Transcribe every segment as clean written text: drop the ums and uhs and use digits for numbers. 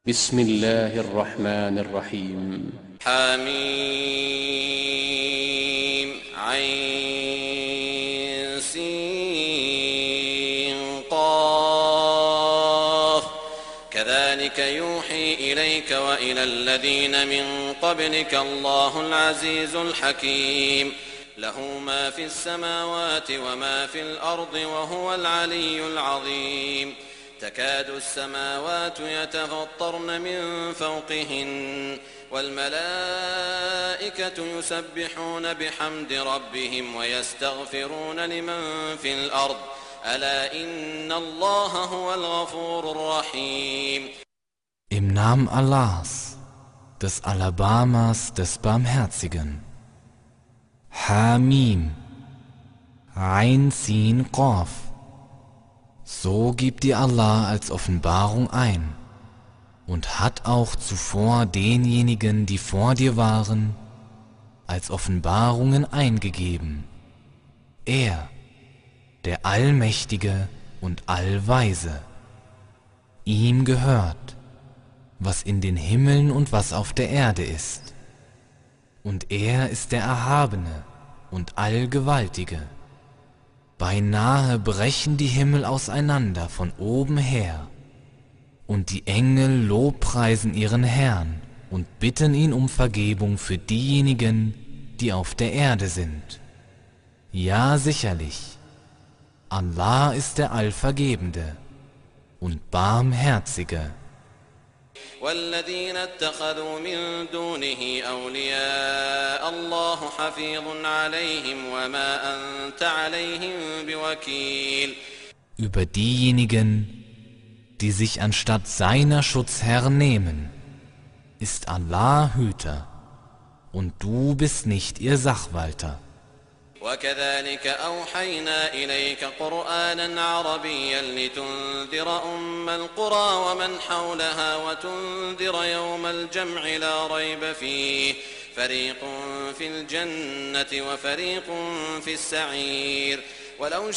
بسم الله الرحمن الرحيم حميم عين سين قاف كذلك يوحي إليك وإلى الذين من قبلك الله العزيز الحكيم له ما في السماوات وما في الأرض وهو العلي العظيم تكاد السماوات يتفطرن من فوقهن والملائكة يسبحون بحمد ربهم ويستغفرون لمن في الأرض ألا إن الله هو الغفور الرحيم. Im Namen Allahs, des Alabamas, des Barmherzigen. Hamim, Ain Sin Qaf. So gibt dir Allah als Offenbarung ein und hat auch zuvor denjenigen, die vor dir waren, als Offenbarungen eingegeben. Er, der Allmächtige und Allweise. Ihm gehört, was in den Himmeln und was auf der Erde ist. Und er ist der Erhabene und Allgewaltige. Beinahe brechen die Himmel auseinander von oben her, und die Engel lobpreisen ihren Herrn und bitten ihn um Vergebung für diejenigen, die auf der Erde sind. Ja, sicherlich, Allah ist der Allvergebende und Barmherzige. والذين اتخذوا من دونه أولياء الله حفيظ عليهم وما أنت عليهم بوكيل. Über diejenigen, die sich anstatt seiner Schutzherren nehmen, ist Allah Hüter, und du bist nicht ihr Sachwalter. وكذلك أوحينا إليك قرآنا عربيا لتنذر أم القرى ومن حولها وتنذر يوم الجمع لا ريب فيه فريق في الجنة وفريق في السعير ولو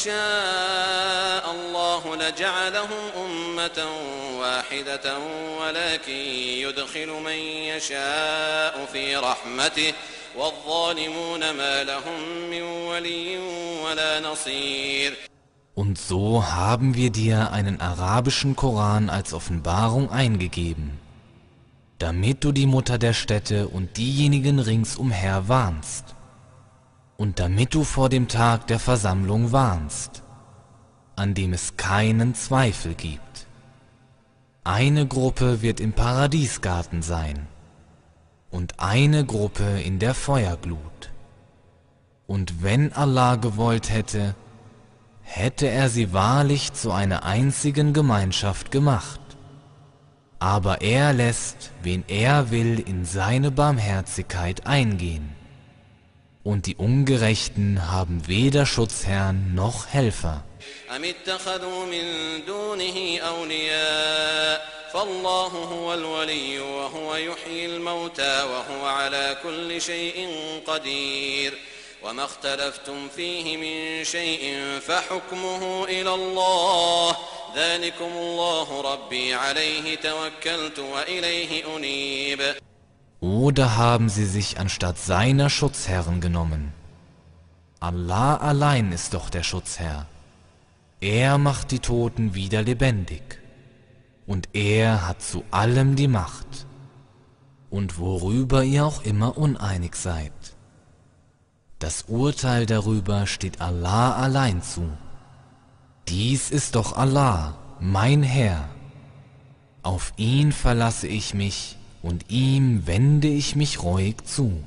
شاء الله لجعلهم أمة واحدة ولكن يدخل من يشاء في رحمته والظالمون ما لهم من ولي ولا نصير. Und so haben wir dir einen arabischen Koran als Offenbarung eingegeben, damit du die Mutter der Städte und diejenigen ringsumher warnst, und damit du vor dem Tag der Versammlung warnst, an dem es keinen Zweifel gibt. Eine Gruppe wird im Paradiesgarten sein, und eine Gruppe in der Feuerglut. Und wenn Allah gewollt hätte, hätte er sie wahrlich zu einer einzigen Gemeinschaft gemacht. Aber er lässt, wen er will, in seine Barmherzigkeit eingehen. Und die Ungerechten haben weder Schutzherrn noch Helfer. أم اتخذوا من دونه أولياء فالله هو الولي وهو يحيي الموتى وهو على كل شيء قدير وما اختلفتم فيه من شيء فحكمه إلى الله ذلكم الله ربي عليه توكلت وإليه أنيب. Oder haben sie sich anstatt seiner Schutzherren genommen? Allah allein ist doch der Schutzherr. Er macht die Toten wieder lebendig. Und er hat zu allem die Macht. Und worüber ihr auch immer uneinig seid. Das Urteil darüber steht Allah allein zu. Dies ist doch Allah, mein Herr. Auf ihn verlasse ich mich und ihm wende ich mich ruhig zu.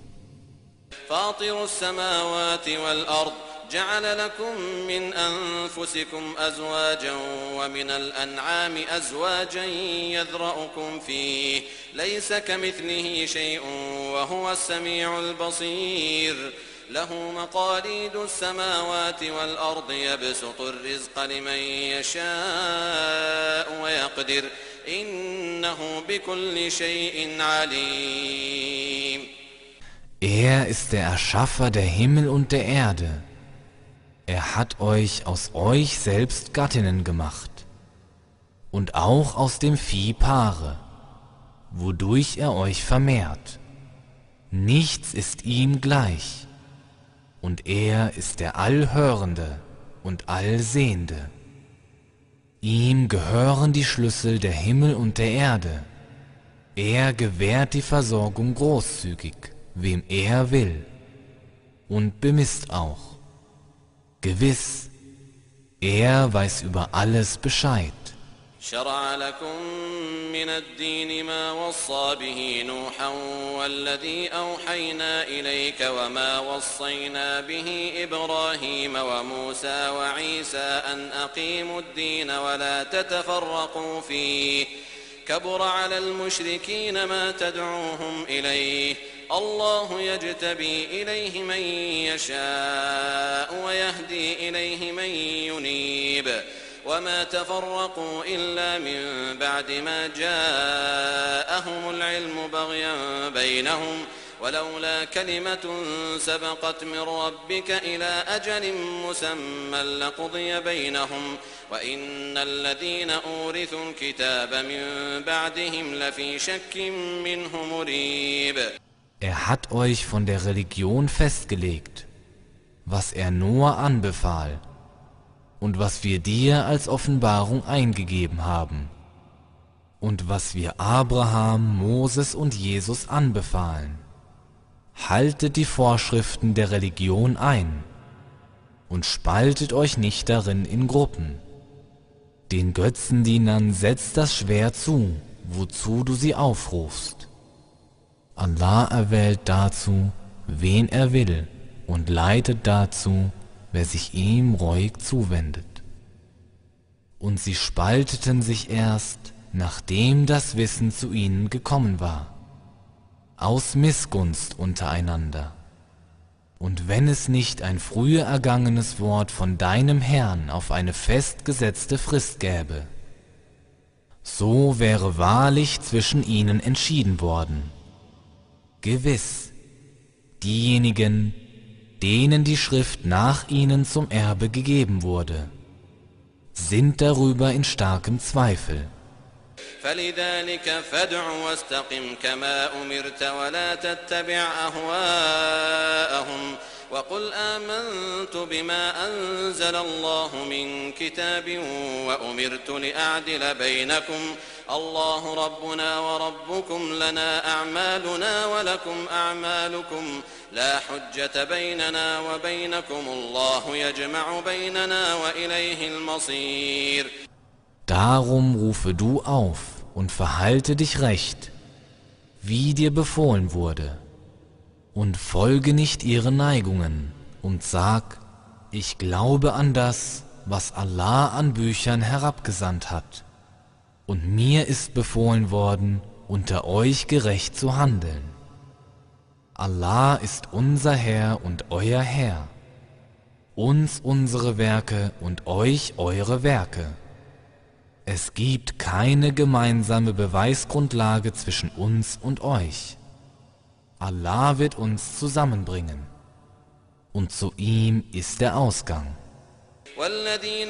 فاطر السماوات والأرض جعل لكم من أنفسكم أزواجا ومن الأنعام أزواجا يذرأكم فيه ليس كمثله شيء وهو السميع البصير له مقاليد السماوات والأرض يبسط الرزق لمن يشاء ويقدر إنه بكل شيء عليم. Er ist der Erschaffer der Himmel und der Erde. Er hat euch aus euch selbst Gattinnen gemacht und auch aus dem Vieh Paare. wodurch er euch vermehrt. Nichts ist ihm gleich, und er ist der Allhörende und Allsehende. Ihm gehören die Schlüssel der Himmel und der Erde. Er gewährt die Versorgung großzügig, wem er will, und bemisst auch. Gewiss, er weiß über alles Bescheid. شرع لكم من الدين ما وصى به نوحا والذي أوحينا إليك وما وصينا به إبراهيم وموسى وعيسى أن أقيموا الدين ولا تتفرقوا فيه كبر على المشركين ما تدعوهم إليه الله يجتبي إليه من يشاء ويهدي إليه من ينيب وما تفرقوا إلا من بعد ما جاءهم العلم بغيا بينهم ولولا كلمة سبقت من ربك إلى أجل مسمى لقضي بينهم وإن الذين أورثوا الكتاب من بعدهم لفي شك منه مريب. Hat euch von der Religion festgelegt, was Noah anbefahl und was wir dir als Offenbarung eingegeben haben und was wir Abraham, Moses und Jesus anbefahlen. Haltet die Vorschriften der Religion ein und spaltet euch nicht darin in Gruppen. Den Götzendienern setzt das Schwert zu, wozu du sie aufrufst. Allah erwählt dazu, wen er will, und leitet dazu, wer sich ihm reuig zuwendet. Und sie spalteten sich erst, nachdem das Wissen zu ihnen gekommen war, aus Missgunst untereinander. Und wenn es nicht ein früher ergangenes Wort von deinem Herrn auf eine festgesetzte Frist gäbe, so wäre wahrlich zwischen ihnen entschieden worden. Gewiss, diejenigen, denen die Schrift nach ihnen zum Erbe gegeben wurde, sind darüber in starkem Zweifel. فلذلك فادع واستقم كما أمرت ولا تتبع أهواءهم وقل آمنت بما أنزل الله من كتاب وأمرت لأعدل بينكم الله ربنا وربكم لنا أعمالنا ولكم أعمالكم لا حجة بيننا وبينكم الله يجمع بيننا وإليه المصير. Darum rufe du auf und verhalte dich recht, wie dir befohlen wurde, und folge nicht ihren Neigungen und sag, ich glaube an das, was Allah an Büchern herabgesandt hat, und mir ist befohlen worden, unter euch gerecht zu handeln. Allah ist unser Herr und euer Herr, uns unsere Werke und euch eure Werke. Es gibt keine gemeinsame Beweisgrundlage zwischen uns und euch. Allah wird uns zusammenbringen, und zu ihm ist der Ausgang. والذين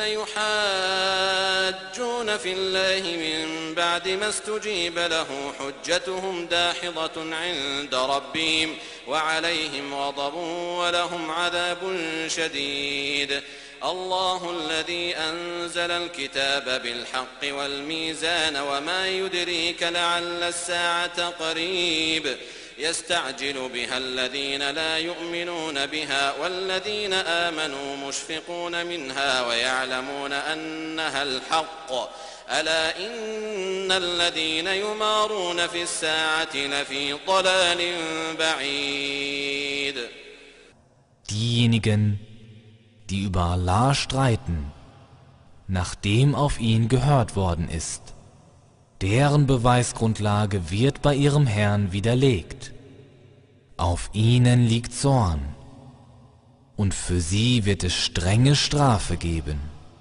يحاجون في الله من بعد ما استجيب له حجتهم داحضة عند ربهم وعليهم غضب ولهم عذاب شديد. الله الذي أنزل الكتاب بالحق والميزان وما يدريك لعل الساعة قريب يستعجل بها الذين لا يؤمنون بها والذين آمنوا مشفقون منها ويعلمون أنها الحق ألا إن الذين يمارون في الساعة لفي ضلال بعيد. Diejenigen, die über Allah streiten, nachdem auf ihn gehört worden ist, deren Beweisgrundlage wird bei ihrem Herrn widerlegt. Auf ihnen liegt Zorn, und für sie wird es strenge Strafe geben.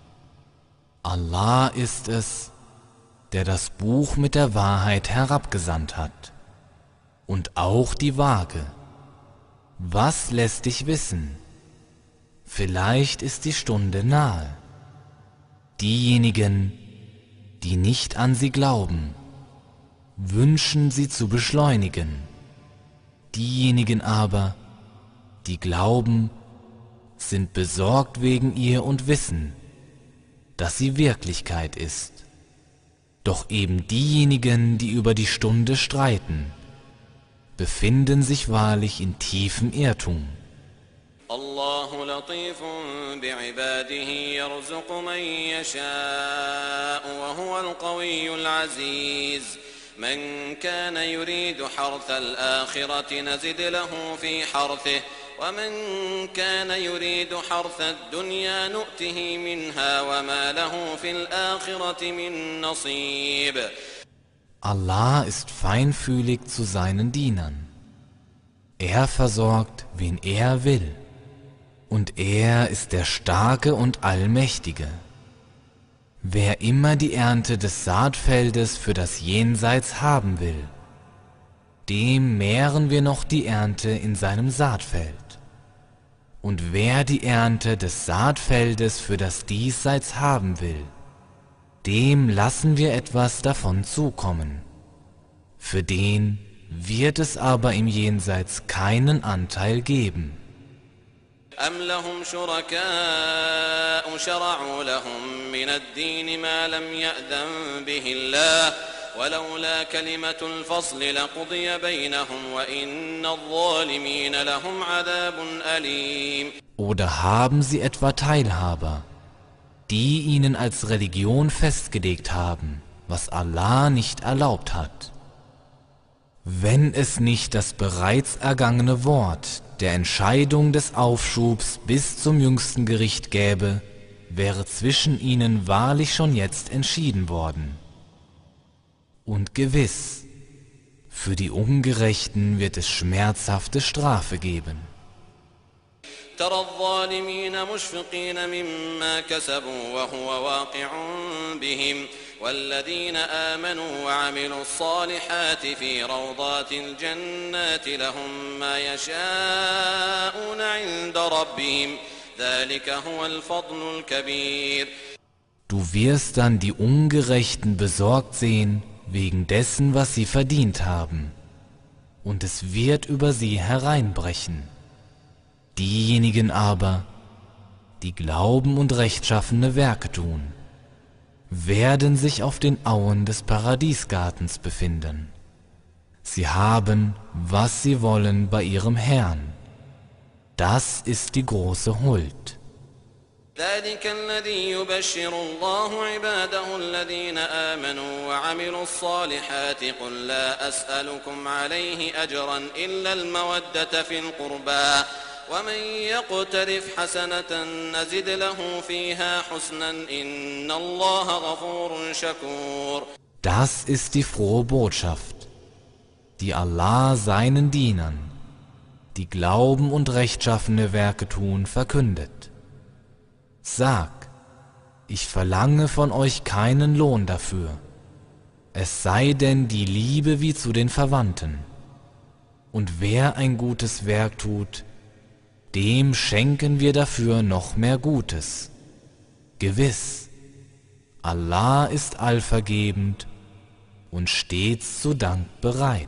Allah ist es, der das Buch mit der Wahrheit herabgesandt hat, und auch die Waage. Was lässt dich wissen? Vielleicht ist die Stunde nahe. Diejenigen, die nicht an sie glauben, wünschen sie zu beschleunigen. Diejenigen aber, die glauben, sind besorgt wegen ihr und wissen, dass sie Wirklichkeit ist. Doch eben diejenigen, die über die Stunde streiten, befinden sich wahrlich in tiefem Irrtum. الله لطيف بعباده يرزق من يشاء وهو القوي العزيز من كان يريد حرث الآخرة نزد له في حرثه ومن كان يريد حرث الدنيا نؤته منها وما له في الآخرة من نصيب. Allah ist feinfühlig zu seinen Dienern. Er versorgt, wen er will. Und er ist der Starke und Allmächtige. Wer immer die Ernte des Saatfeldes für das Jenseits haben will, dem mehren wir noch die Ernte in seinem Saatfeld. Und wer die Ernte des Saatfeldes für das Diesseits haben will, dem lassen wir etwas davon zukommen. Für den wird es aber im Jenseits keinen Anteil geben. أم لهم شركاء شرعوا لهم من الدين ما لم يأذن به الله ولولا كلمة الفصل لقضي بينهم وإن الظالمين لهم عذاب أليم. Oder haben sie etwa Teilhaber, die ihnen als Religion festgelegt haben, was Allah nicht erlaubt hat? Wenn es nicht das bereits ergangene Wort der Entscheidung des Aufschubs bis zum jüngsten Gericht gäbe, wäre zwischen ihnen wahrlich schon jetzt entschieden worden. Und gewiss, für die Ungerechten wird es schmerzhafte Strafe geben. ترى الظالمين مشفقين مما كسبوا وهو واقع بهم والذين آمنوا وعملوا الصالحات في روضات الجنات لهم ما يشاءون عند ربهم ذلك هو الفضل الكبير. Du wirst dann die Ungerechten besorgt sehen wegen dessen, was sie verdient haben, und es wird über sie hereinbrechen. Diejenigen aber, die glauben und rechtschaffene Werke tun, werden sich auf den Auen des Paradiesgartens befinden. Sie haben, was sie wollen bei ihrem Herrn. Das ist die große Huld. ذلك الذي يبشر الله عباده الذين آمنوا وعملوا الصالحات قل لا أسألكم عليه أجرا إلا المودة في القربى ومن يقترف حسنة نزد له فيها حسنا إن الله غفور شكور. Das ist die frohe Botschaft, die Allah seinen Dienern, die glauben und rechtschaffene Werke tun, verkündet. Sag, ich verlange von euch keinen Lohn dafür, es sei denn die Liebe wie zu den Verwandten. Und wer ein gutes Werk tut, dem schenken wir dafür noch mehr Gutes. Gewiss, Allah ist allvergebend und stets zu Dank bereit.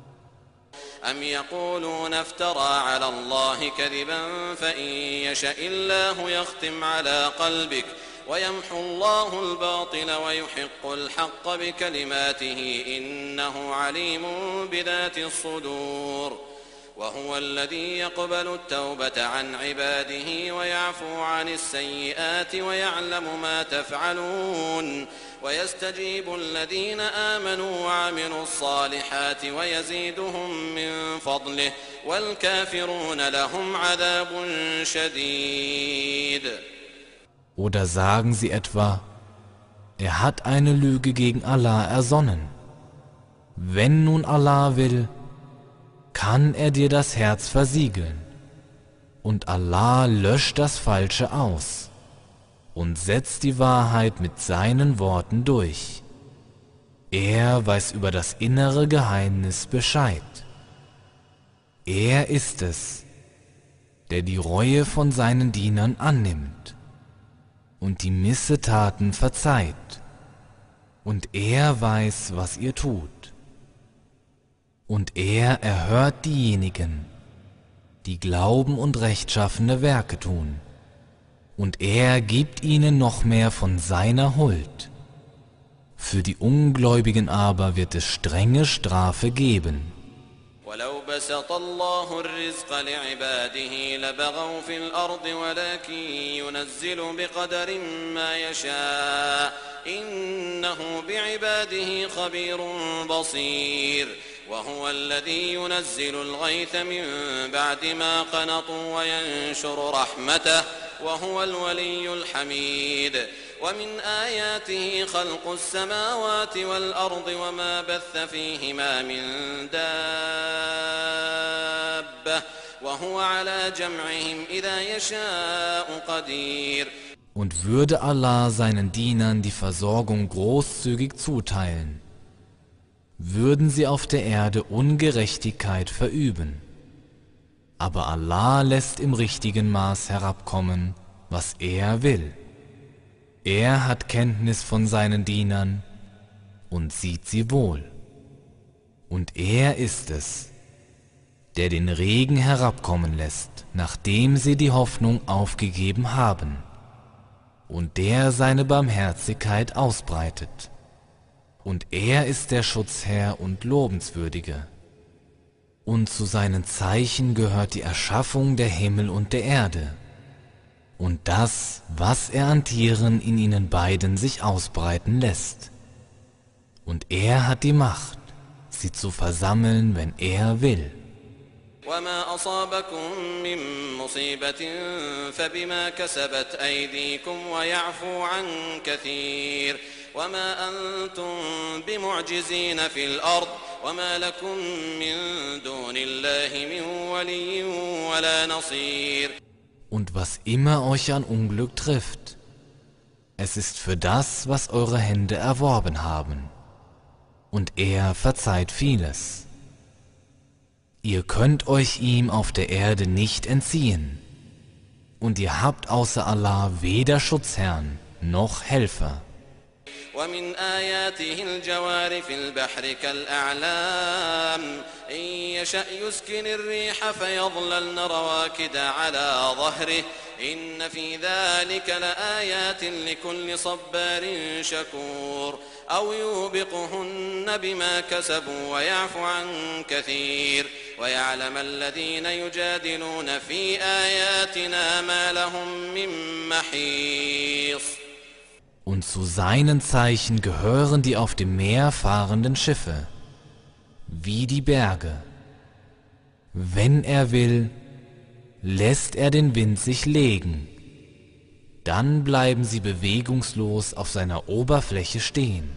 أم يقولون افترى على الله كذبا فإن يشاء الله يختم على قلبك ويمحو الله الباطل ويحق الحق بكلماته إنه عليم بذات الصدور وهو الذي يقبل التوبة عن عباده ويعفو عن السيئات ويعلم ما تفعلون ويستجيب الذين آمنوا وعملوا الصالحات ويزيدهم من فضله والكافرون لهم عذاب شديد. Oder sagen sie etwa, er hat eine Lüge gegen Allah ersonnen. Wenn nun Allah will, kann er dir das Herz versiegeln. Und Allah löscht das Falsche aus und setzt die Wahrheit mit seinen Worten durch. Er weiß über das innere Geheimnis Bescheid. Er ist es, der die Reue von seinen Dienern annimmt und die Missetaten verzeiht. Und er weiß, was ihr tut. Und er erhört diejenigen, die glauben und rechtschaffene Werke tun. Und er gibt ihnen noch mehr von seiner Huld. Für die Ungläubigen aber wird es strenge Strafe geben. ولو بسط الله الرزق لعباده لبغوا في الأرض ولكن ينزل بقدر ما يشاء إنه بعباده خبير بصير وهو الذي ينزل الغيث من بعد ما قنطوا وينشر رحمته وهو الولي الحميد ومن آياته خلق السماوات والأرض وما بث فيهما من دابة وهو على جمعهم إذا يشاء قدير. Und würde Allah seinen Dienern die Versorgung großzügig zuteilen, würden sie auf der Erde Ungerechtigkeit verüben. Aber Allah lässt im richtigen Maß herabkommen, was er will. Er hat Kenntnis von seinen Dienern und sieht sie wohl. Und er ist es, der den Regen herabkommen lässt, nachdem sie die Hoffnung aufgegeben haben, und der seine Barmherzigkeit ausbreitet. Und er ist der Schutzherr und Lobenswürdige. Und zu seinen Zeichen gehört die Erschaffung der Himmel und der Erde und das, was er an Tieren in ihnen beiden sich ausbreiten lässt. Und er hat die Macht, sie zu versammeln, wenn er will. وما أصابكم من مصيبة فبما كسبت أيديكم ويعفو عن كثير وما أنتم بمعجزين في الأرض وما لكم من دون الله من ولي ولا نصير. Und was immer euch an Unglück trifft, es ist für das, was eure Hände erworben haben, und er verzeiht vieles. Ihr könnt euch ihm auf der Erde nicht entziehen, und ihr habt außer Allah weder Schutzherrn noch Helfer. ومن آياته الجوار في البحر كالأعلام إن يشأ يسكن الريح فيظللن رواكد على ظهره إن في ذلك لآيات لكل صبار شكور أو يوبقهن بما كسبوا ويعفو عن كثير ويعلم الذين يجادلون في آياتنا ما لهم من محيص. Und zu seinen Zeichen gehören die auf dem Meer fahrenden Schiffe, wie die Berge. Wenn er will, lässt er den Wind sich legen. Dann bleiben sie bewegungslos auf seiner Oberfläche stehen.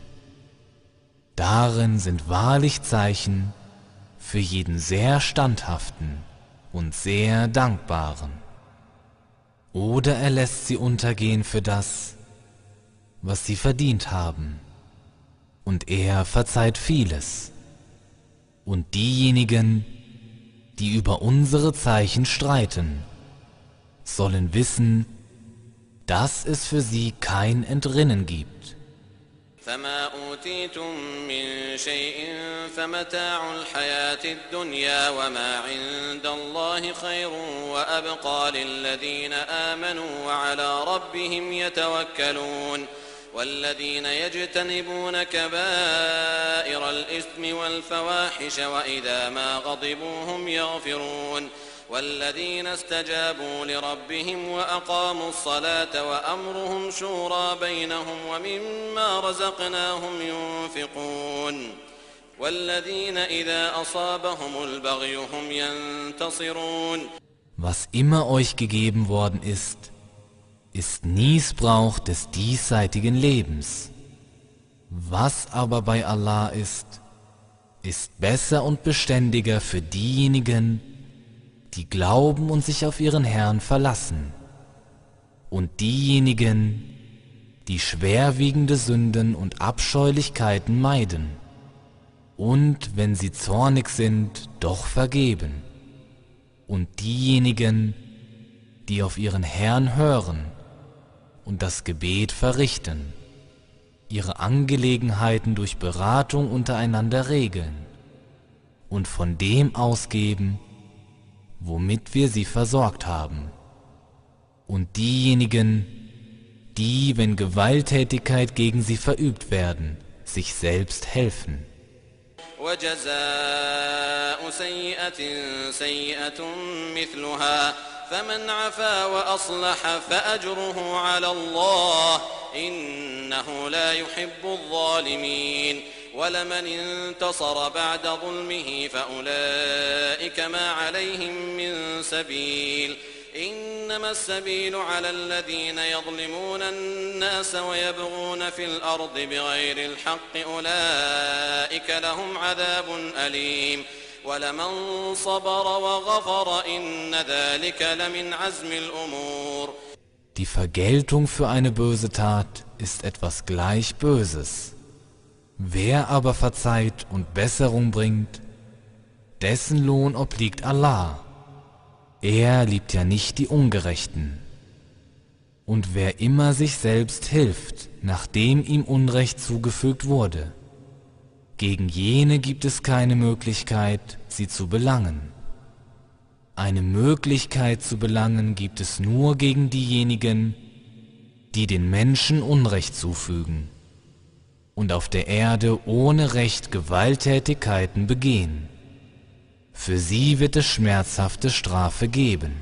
Darin sind wahrlich Zeichen für jeden sehr Standhaften und sehr Dankbaren. Oder er lässt sie untergehen für das, was sie verdient haben, und er verzeiht vieles. Und diejenigen, die über unsere Zeichen streiten, sollen wissen, dass es für sie kein Entrinnen gibt. فما أوتيتم من شيء فمتاع الحياة الدنيا وما عند الله خير وأبقى للذين آمنوا وعلى ربهم يتوكلون والذين يجتنبون كبائر الإثم والفواحش وإذا ما غضبوا هم يغفرون والذين استجابوا لربهم وأقاموا الصلاة وأمرهم شورى بينهم ومما رزقناهم ينفقون والذين إذا أصابهم البغي هم ينتصرون. Was immer euch gegeben worden ist Nießbrauch des diesseitigen Lebens. Was aber bei Allah ist besser und beständiger für diejenigen, die glauben und sich auf ihren Herrn verlassen, und diejenigen, die schwerwiegende Sünden und Abscheulichkeiten meiden, und wenn sie zornig sind, doch vergeben, und diejenigen, die auf ihren Herrn hören und das Gebet verrichten, ihre Angelegenheiten durch Beratung untereinander regeln und von dem ausgeben, womit wir sie versorgt haben. Und diejenigen, die, wenn Gewalttätigkeit gegen sie verübt werden, sich selbst helfen. وجزاء سيئة سيئة مثلها فمن عفا وأصلح فأجره على الله إنه لا يحب الظالمين ولمن انتصر بعد ظلمه فأولئك ما عليهم من سبيل إنما السبيل على الذين يظلمون الناس ويبغون في الأرض بغير الحق أولئك لهم عذاب أليم ولمن صبر وغفر إن ذلك لمن عزم الأمور. Die Vergeltung für eine böse Tat ist etwas gleich Böses. Wer aber verzeiht und Besserung bringt, dessen Lohn obliegt Allah. Er liebt ja nicht die Ungerechten. Und wer immer sich selbst hilft, nachdem ihm Unrecht zugefügt wurde, gegen jene gibt es keine Möglichkeit, sie zu belangen. Eine Möglichkeit zu belangen gibt es nur gegen diejenigen, die den Menschen Unrecht zufügen und auf der Erde ohne Recht Gewalttätigkeiten begehen. Für sie wird es schmerzhafte Strafe geben.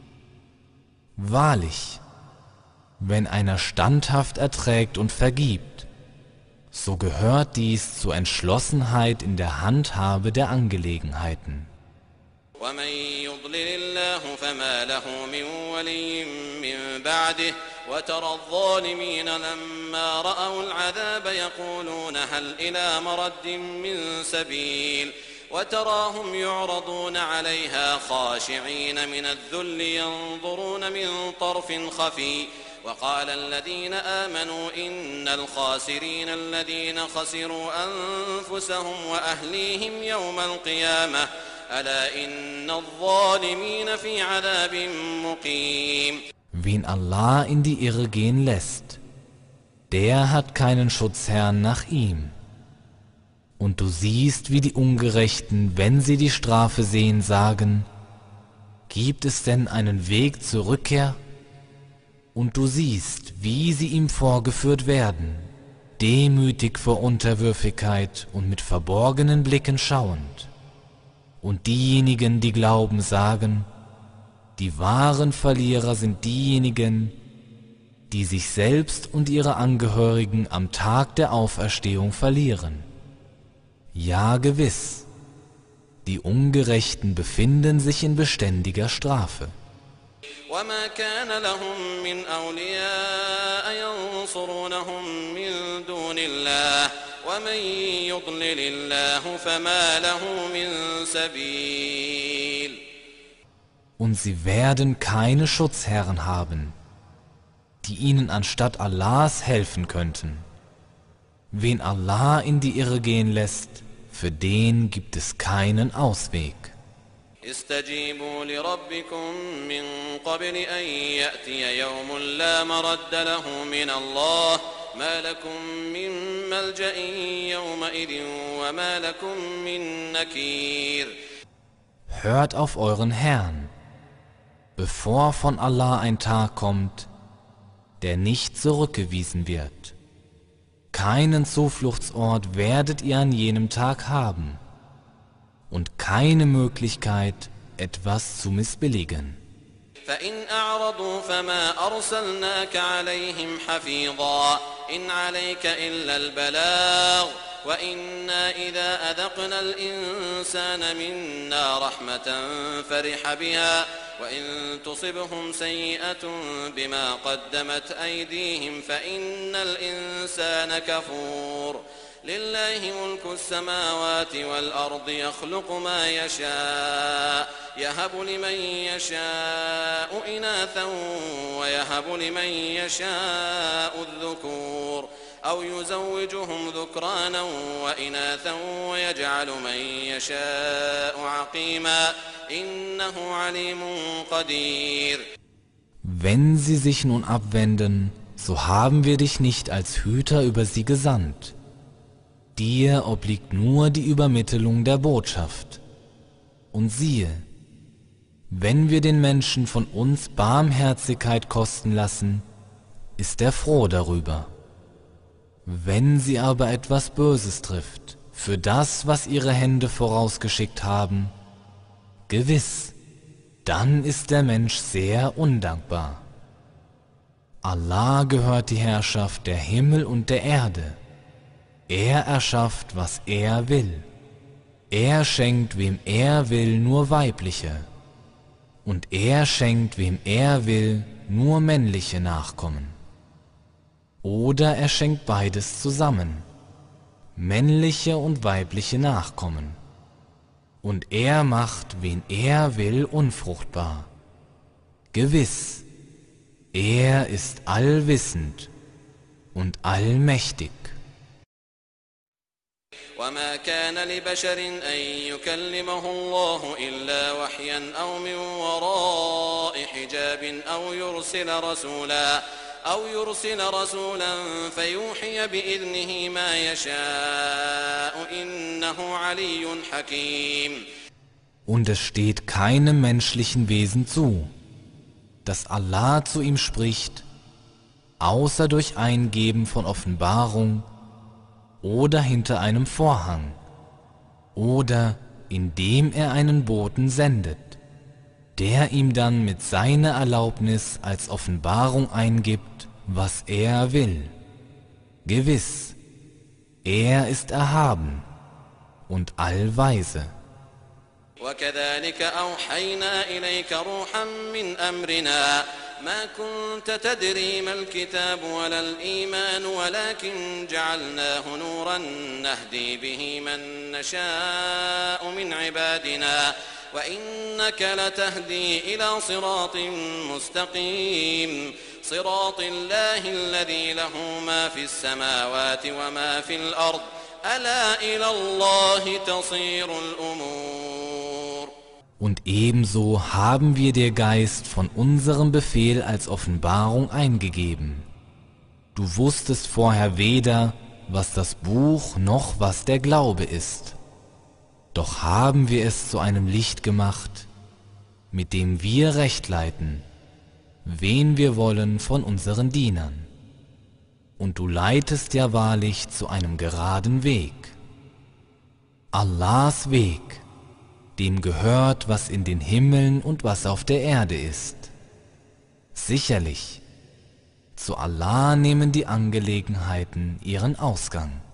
Wahrlich, wenn einer standhaft erträgt und vergibt, so gehört dies zur Entschlossenheit in der Handhabe der Angelegenheiten. ومن يضلل الله فما له من ولي من بعده وترى الظالمين لما رأوا العذاب يقولون هل إلى مرد من سبيل وتراهم يعرضون عليها خاشعين من الذل ينظرون من طرف خفي وقال الذين آمنوا إن الخاسرين الذين خسروا أنفسهم وأهليهم يوم القيامة ألا إن الظالمين في عذاب مقيم. Wen Allah in die Irre gehen lässt, der hat keinen Schutzherrn nach ihm. Und du siehst, wie die Ungerechten, wenn sie die Strafe sehen, sagen, gibt es denn einen Weg zur Rückkehr? Und du siehst, wie sie ihm vorgeführt werden, demütig vor Unterwürfigkeit und mit verborgenen Blicken schauend. Und diejenigen, die glauben, sagen, die wahren Verlierer sind diejenigen, die sich selbst und ihre Angehörigen am Tag der Auferstehung verlieren. Ja, gewiss, die Ungerechten befinden sich in beständiger Strafe. وما كان لهم من أولياء ينصرونهم من دون الله ومن يضلل الله فما له من سبيل. Und sie werden keine Schutzherren haben, die ihnen anstatt Allahs helfen könnten. Wen Allah in die Irre gehen lässt, für den gibt es keinen Ausweg. استجيبوا لربكم من قبل أن يأتي يوم لا مرد له من الله ما لكم من ملجأ يومئذ وما لكم من نكير. Hört auf euren Herrn, bevor von Allah ein Tag kommt, der nicht zurückgewiesen wird. Keinen Zufluchtsort werdet ihr an jenem Tag haben und keine Möglichkeit, etwas zu missbilligen. فإن أعرضوا فما أرسلناك عليهم حفيظا إن عليك إلا البلاغ وإنا إذا أذقنا الإنسان منا رحمة فرح بها وإن تصبهم سيئة بما قدمت أيديهم فإن الإنسان كفور لله ملك السماوات والأرض يخلق ما يشاء يهب لمن يشاء إناثا ويهب لمن يشاء الذكور أو يزوجهم ذكرانا وإناثا ويجعل من يشاء عقيما إنه عليم قدير. Wenn sie sich nun abwenden, so haben wir dich nicht als Hüter über sie gesandt. Dir obliegt nur die Übermittlung der Botschaft. Und siehe, wenn wir den Menschen von uns Barmherzigkeit kosten lassen, ist er froh darüber. Wenn sie aber etwas Böses trifft, für das, was ihre Hände vorausgeschickt haben, gewiss, dann ist der Mensch sehr undankbar. Allah gehört die Herrschaft der Himmel und der Erde. Er erschafft, was er will. Er schenkt, wem er will, nur weibliche. Und er schenkt, wem er will, nur männliche Nachkommen. Oder er schenkt beides zusammen, männliche und weibliche Nachkommen. Und er macht, wen er will, unfruchtbar. Gewiss, er ist allwissend und allmächtig. وما كان لبشر أن يكلمه الله إلا وحيا أو من وراء حجاب أو يرسل رسولا فيوحي بإذنه ما يشاء إنه علي حكيم. Und es steht keinem menschlichen Wesen zu, dass Allah zu ihm spricht, außer durch Eingeben von Offenbarung oder hinter einem Vorhang oder indem er einen Boten sendet, der ihm dann mit seiner Erlaubnis als Offenbarung eingibt, was er will. Gewiss, er ist erhaben und allweise. وكذلك أوحينا إليك روحا من أمرنا ما كنت تدري ما الكتاب ولا الإيمان ولكن جعلناه نورا نهدي به من نشاء من عبادنا وإنك لتهدي إلى صراط مستقيم صراط الله الذي له ما في السماوات وما في الأرض ألا إلى الله تصير الأمور. Und ebenso haben wir dir Geist von unserem Befehl als Offenbarung eingegeben. Du wusstest vorher weder, was das Buch noch was der Glaube ist. Doch haben wir es zu einem Licht gemacht, mit dem wir Recht leiten, wen wir wollen von unseren Dienern. Und du leitest ja wahrlich zu einem geraden Weg. Allahs Weg, dem gehört, was in den Himmeln und was auf der Erde ist. Sicherlich, zu Allah nehmen die Angelegenheiten ihren Ausgang.